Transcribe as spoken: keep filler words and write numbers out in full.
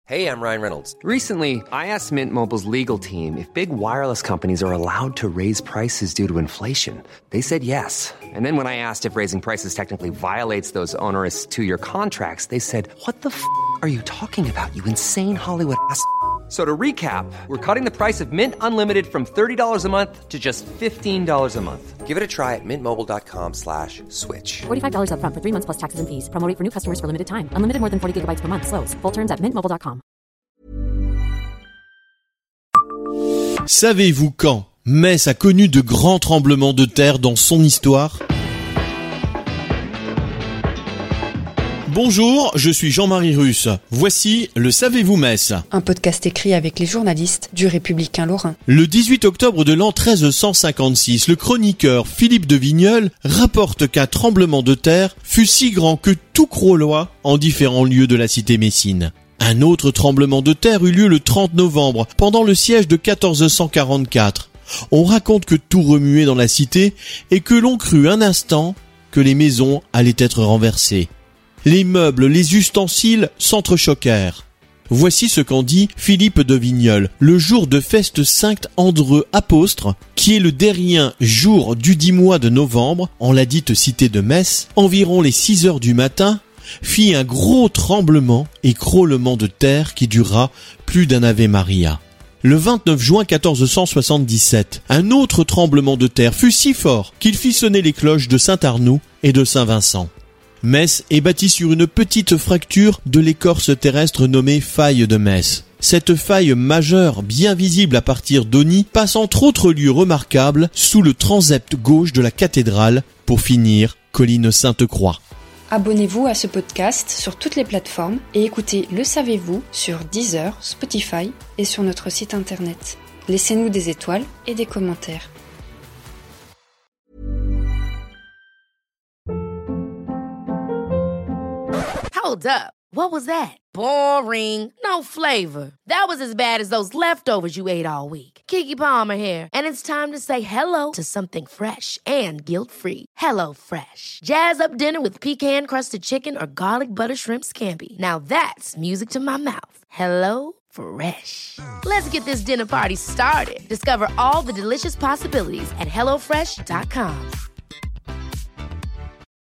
Hey, I'm Ryan Reynolds. Recently, I asked Mint Mobile's legal team if big wireless companies are allowed to raise prices due to inflation. They said yes. And then when I asked if raising prices technically violates those onerous two-year contracts, they said, what the f*** are you talking about, you insane Hollywood ass f- So to recap, we're cutting the price of Mint Unlimited from thirty dollars a month to just fifteen dollars a month. Give it a try at mintmobile.com slash switch. forty-five dollars up front for three months plus taxes and fees. Promo rate for new customers for limited time. Unlimited more than forty gigabytes per month. Slows full terms at mint mobile dot com. Savez-vous quand Metz a connu de grands tremblements de terre dans son histoire ? Bonjour, je suis Jean-Marie Russe. Voici le Savez-vous Metz ? Un podcast écrit avec les journalistes du Républicain Lorrain. Le dix-huit octobre de l'an treize cent cinquante-six, le chroniqueur Philippe de Vigneulles rapporte qu'un tremblement de terre fut si grand que tout Crolloy en différents lieux de la cité messine. Un autre tremblement de terre eut lieu le trente novembre, pendant le siège de quatorze cent quarante-quatre. On raconte que tout remuait dans la cité et que l'on crut un instant que les maisons allaient être renversées. Les meubles, les ustensiles s'entrechoquèrent. Voici ce qu'en dit Philippe de Vigneulles, le jour de feste Saint Andreu Apôstre, qui est le dernier jour du dix mois de novembre, en la dite cité de Metz, environ les six heures du matin, fit un gros tremblement et crôlement de terre qui dura plus d'un Ave Maria. Le vingt-neuf juin quatorze cent soixante-dix-sept, un autre tremblement de terre fut si fort qu'il fit sonner les cloches de Saint-Arnoux et de Saint-Vincent. Metz est bâti sur une petite fracture de l'écorce terrestre nommée faille de Metz. Cette faille majeure, bien visible à partir d'Auny, passe entre autres lieux remarquables sous le transept gauche de la cathédrale, pour finir colline Sainte-Croix. Abonnez-vous à ce podcast sur toutes les plateformes et écoutez Le Savez-vous sur Deezer, Spotify et sur notre site internet. Laissez-nous des étoiles et des commentaires. Hold up. What was that? Boring. No flavor. That was as bad as those leftovers you ate all week. Keke Palmer here, and it's time to say hello to something fresh and guilt-free. Hello Fresh. Jazz up dinner with pecan-crusted chicken or garlic butter shrimp scampi. Now that's music to my mouth. Hello Fresh. Let's get this dinner party started. Discover all the delicious possibilities at hello fresh dot com.